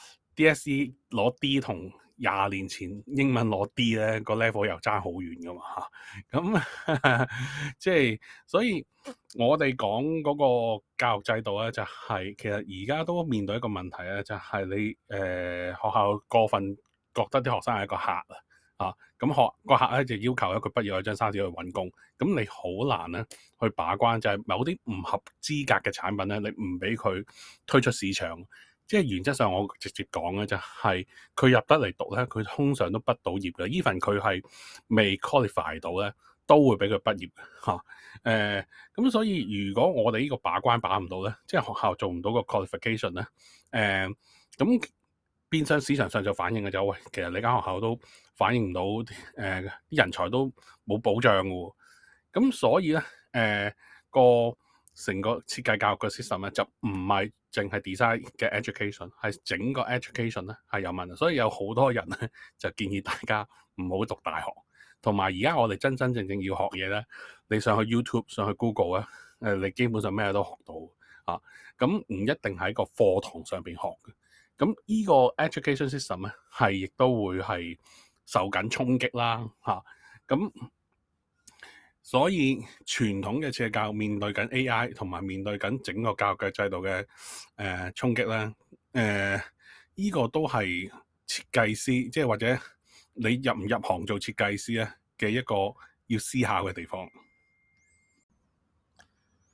DSE 攞 D 同廿年前英文攞 D 咧，個 level 又爭好遠噶嘛嚇，咁即係所以我哋講嗰個教育制度咧，就係、是、其實而家都面對一個問題咧，就係、是、你誒、呃、學校過分覺得啲學生係一個客啊，啊咁學個客咧就要求咧佢畢業有張沙紙去揾工，咁你好難咧去把關，就係、是、某啲唔合資格嘅產品咧，你唔俾佢推出市場。即係原則上，我直接講嘅就係佢入得嚟讀咧，佢通常都畢到業嘅。even 佢係未 qualify 到咧，都會俾佢畢業嚇。誒、啊、咁、呃、所以如果我哋呢個把關把唔到咧，即係學校做唔到個 qualification 咧、呃，誒咁變相市場上就反映嘅就喂，其實你間學校都反映唔到誒啲人才都冇保障嘅喎。咁所以咧誒、呃、個成個設計教育嘅 system 咧就唔係淨係 design 嘅 education， 係整個 education 咧係有問題，所以有好多人咧就建議大家唔好讀大學，同埋而家我哋真真正正要學嘢咧，你上去 YouTube 上去 Google 咧，誒你基本上咩都學到啊，咁唔一定喺個課堂上邊學嘅，咁呢個 education system 咧係亦都會係受緊衝擊啦嚇，咁、啊。所以傳統嘅設計教育面對緊 A I 同埋面對緊整個教育嘅制度嘅誒衝擊咧，誒、呃、依、這個都係設計師，即係或者你入唔入行做設計師咧嘅一個要思考嘅地方。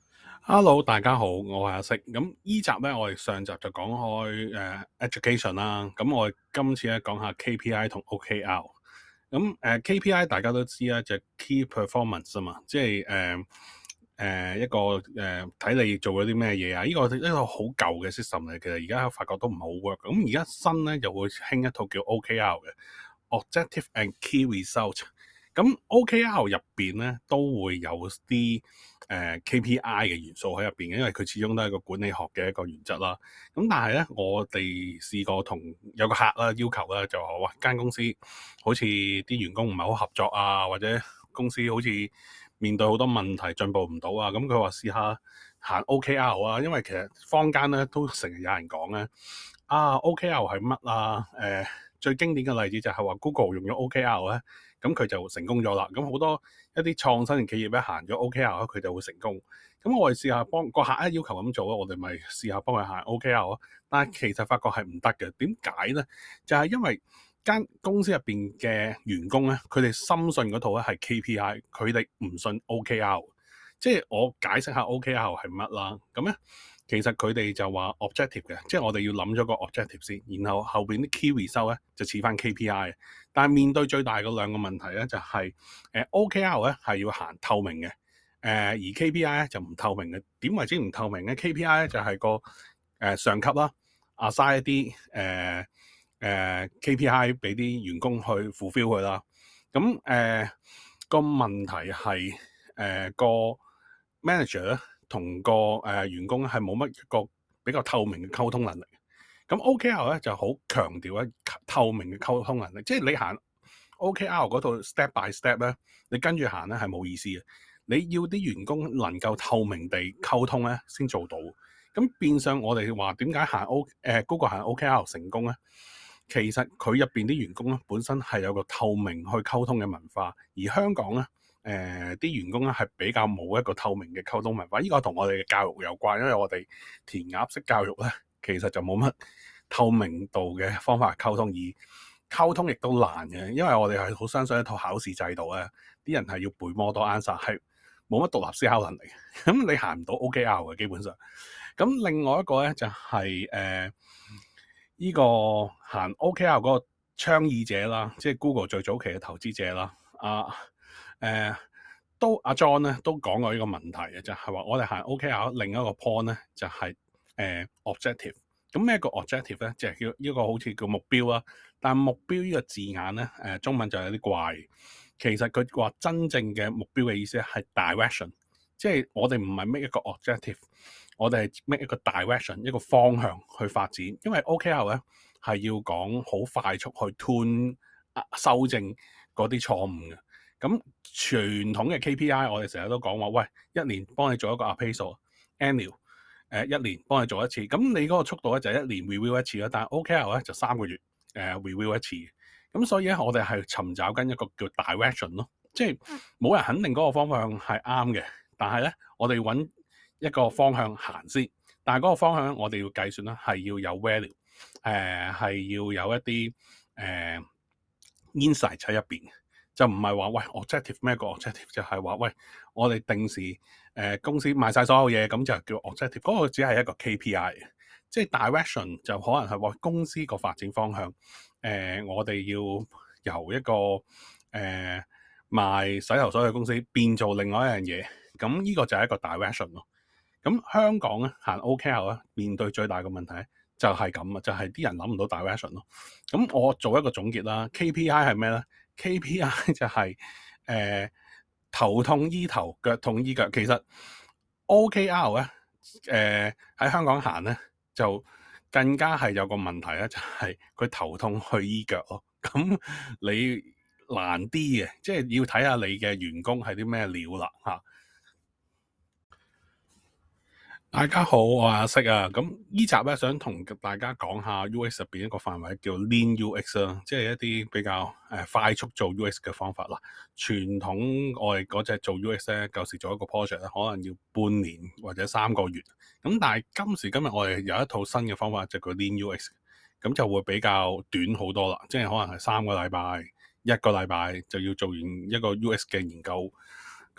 Hello，大家好，我係阿色。咁依集咧，我哋上集就講開誒、呃、education 啦。咁我哋今次咧講下 K P I 同 O K R。咁誒、呃、K P I 大家都知啦，就係 key performance 啊嘛，即係誒誒一個誒睇、呃、你做咗啲咩嘢啊。呢、這個一個好舊嘅 system 嚟，其實而家發覺都唔好 work。咁而家新咧又會興一套叫 O K R 嘅 objective and key result。咁 O K R 入邊咧都會有啲誒、呃、K P I 嘅元素喺入邊嘅，因為佢始終都係個管理學嘅一個原則啦。咁但係咧，我哋試過同有個客啦要求啦，就話喂，間公司好似啲員工唔係好合作啊，或者公司好似面對好多問題進步唔到啊。咁佢話試下行 O K R 啊，因為其實坊間咧都成日有人講咧啊 O K R 係乜啊？誒、呃、最經典嘅例子就係話 Google 用咗 O K R 咧。咁佢就成功咗啦。咁好多一啲創新嘅企業咧行咗 O K R 佢就會成功。咁我哋試下幫個客咧要求咁做咯，我哋咪試下幫佢行 O K R 咯。但係其實發覺係唔得嘅。點解咧？就係因為間公司入邊嘅員工咧，佢哋深信嗰套咧係 K P I，佢哋唔信 O K R。即係我解釋下 O K R 係乜啦。咁咧，其實佢哋就話 objective 嘅，即係我哋要諗咗個 objective 先，然後後邊啲 key result 咧就似翻 K P I。但係面對最大嘅兩個問題咧，就係、是、誒、呃、O K R 咧係要行透明嘅，誒、呃、而 K P I 咧就唔透明嘅。點為之唔透明咧 ？K P I 咧就係、是、個誒、呃、上級啦，assign一啲誒誒 K P I 俾啲員工去 fulfill 佢啦。咁誒、呃、個問題係誒、呃、個 manager 咧同個誒、呃、員工係冇乜一個比較透明嘅溝通能力。咁 O K R 咧就好強調咧透明嘅溝通能力，即係你行 O K R 嗰套 step by step 咧，你跟住行咧係冇意思嘅。你要啲員工能夠透明地溝通咧，先做到。咁變相我哋話點解行 O 誒 Google 行 O K R 成功咧？其實佢入邊啲員工咧本身係有個透明去溝通嘅文化，而香港咧誒啲員工咧係比較冇一個透明嘅溝通文化。呢個同我哋嘅教育有關，因為我哋填鴨式教育咧。其實就冇乜透明度嘅方法溝通，而溝通亦都難嘅，因為我哋係好相信一套考試制度咧，啲人係要背 model answer，係冇乜獨立思考能力。咁你行唔到 O K R 嘅基本上。咁另外一個咧就係誒呢個行 O K R 嗰個倡議者啦，即係 Google 最早期嘅投資者啦，啊誒、呃、都阿 John 咧都講過呢個問題嘅，就係、是、話我哋行 O K R 另一個 point 咧就係、是。誒、uh, objective，咁咩個 objective 咧？就係叫呢個好似叫目標啦。但係目標呢個字眼咧，誒、呃、中文就有啲怪。其實佢話真正嘅目標嘅意思係 direction，即係我哋唔係 make 一個 objective，我哋係 make 一個 direction，一個方向去發展。因為 O K R 咧係要講好快速去 tune 修正嗰啲錯誤嘅。咁傳統嘅 K P I 我哋成日都講話，喂，一年幫你做一個 appraisal，annual。誒一年幫你做一次，咁你嗰個速度咧就係一年 review 一次啦，但係 O K R 咧就三個月誒、呃、review 一次，咁所以咧我哋係尋找緊一個叫 direction 咯，即係冇人肯定嗰個方向係啱嘅，但係咧我哋揾一個方向行先，但係嗰個方向我哋要計算啦，係要有 value，誒、呃、係要有一啲誒、呃、insight 喺入邊。就唔係話喂 objective 咩個 objective 就係話喂我哋定時誒、呃、公司賣晒所有嘢咁就叫 objective，嗰個只係一個 K P I， 即係 direction 就可能係話公司個發展方向。誒、呃、我哋要由一個誒、呃、賣洗頭水嘅公司變做另外一樣嘢，咁呢個就係一個 direction 咯。咁香港咧行 O K R 咧面對最大嘅問題就係咁啊，就係、是、啲人諗唔到 direction 咯。咁我做一個總結啦 ，K P I 係咩咧？K P I 就係、是、誒、呃、頭痛醫頭，腳痛醫腳。其實 O K R 咧誒喺香港行咧就更加係有個問題咧，就係、是、佢頭痛去醫腳咯。咁你難啲嘅，即係要睇下你嘅員工係啲咩料啦嚇。大家好，我係阿色啊。咁呢集咧想同大家講下 U X 入邊一個範圍叫 Lean U X 啦，即係一啲比較誒、呃、快速做 U X 嘅方法啦。傳統我哋嗰隻做 U X 咧，舊時做一個 project 咧，可能要半年或者三個月。咁但係今時今日我哋有一套新嘅方法，就叫 Lean U X，咁就會比較短好多啦。即係可能係三個禮拜、一個禮拜就要做完一個 U X 嘅研究。咁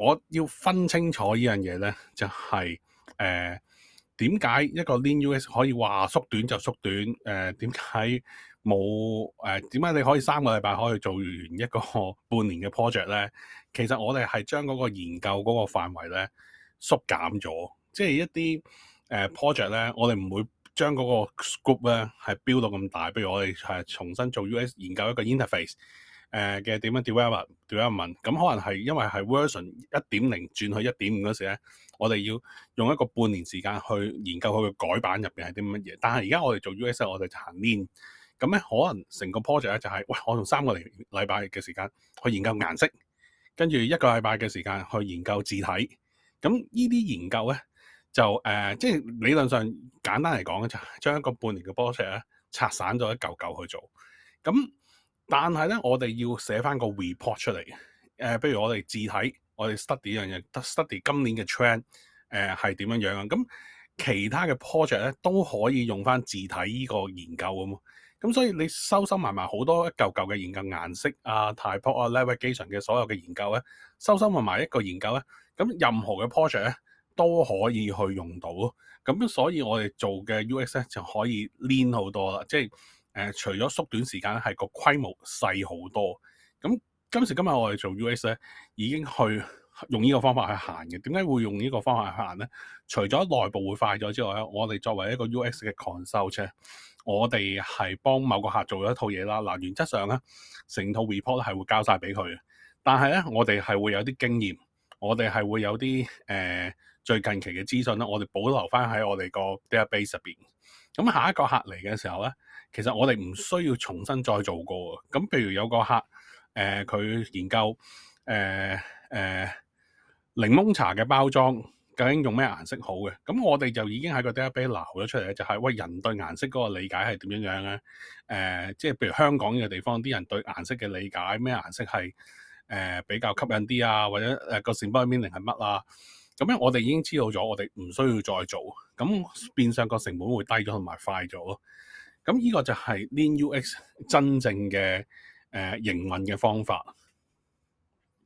我要分清楚呢樣嘢咧，就係誒點解一個 Lean U X 可以話縮短就縮短？誒點解冇誒點解你可以三個禮拜可以做完一個半年嘅 project 咧？其實我哋係將嗰個研究嗰個範圍咧縮減咗，即係一啲誒、呃、project 咧，我哋唔會將嗰個 scope 咧係標到咁大。譬如我哋係重新做 U X 研究一個 interface。誒嘅點樣 develop development 咁可能係因為係 version 一點零轉去一點五嗰時咧，我哋要用一個半年時間去研究佢嘅改版入邊係啲乜嘢。但係而家我哋做 U X 我哋就行 Lean，咁咧可能成個 project 咧就係、是、喂，我用三個禮禮拜嘅時間去研究顏色，跟住一個禮拜嘅時間去研究字體。咁呢啲研究咧就誒、呃，即係理論上簡單嚟講咧，就將一個半年嘅 project 咧拆散咗一嚿嚿去做。咁但係咧，我哋要寫翻個 report 出嚟嘅。誒、呃，譬如我哋字體，我哋 study 呢樣嘢，study 今年嘅 trend，誒係點樣樣啊？咁其他嘅 project 咧都可以用翻字體呢個研究咁。咁所以你收收埋埋好多一嚿嚿嘅研究顏色啊、typo 啊、navigation 嘅所有嘅研究咧，收收埋埋一個研究咧，咁任何嘅 project 咧都可以去用到咯。咁所以我哋做嘅 U X 咧就可以 lean 好多啦，即係。誒、呃，除咗縮短時間咧，係個規模細好多。咁今時今日我哋做 U X 咧，已經去用呢個方法去行嘅。點解會用呢個方法去行咧？除咗內部會快咗之外咧，我哋作為一個 U X 嘅 consult，我哋係幫某個客做咗一套嘢啦。嗱，原則上咧，成套 report 係會交晒俾佢嘅。但係咧，我哋係會有啲經驗，我哋係會有啲誒、呃、最近期嘅資訊咧，我哋保留翻喺我哋個 database 入邊。咁下一個客嚟嘅時候咧，其實我哋唔需要重新再做過。咁譬如有個客，誒、呃、佢研究誒誒、呃呃、檸檬茶嘅包裝究竟用咩顏色好嘅，咁我哋就已經喺個 database 撈咗出嚟咧，就係、是、喂，人對顏色嗰個理解係點樣樣咧？誒、呃，即係譬如香港呢個地方啲人對顏色嘅理解，咩顏色係誒、呃、比較吸引啲啊，或者誒個 symbol meaning 係乜啊？咁樣我哋已經知道咗，我哋唔需要再做，咁變相個成本會低咗同埋快咗咯。咁呢個就係 Lean U X 真正嘅誒營運嘅方法。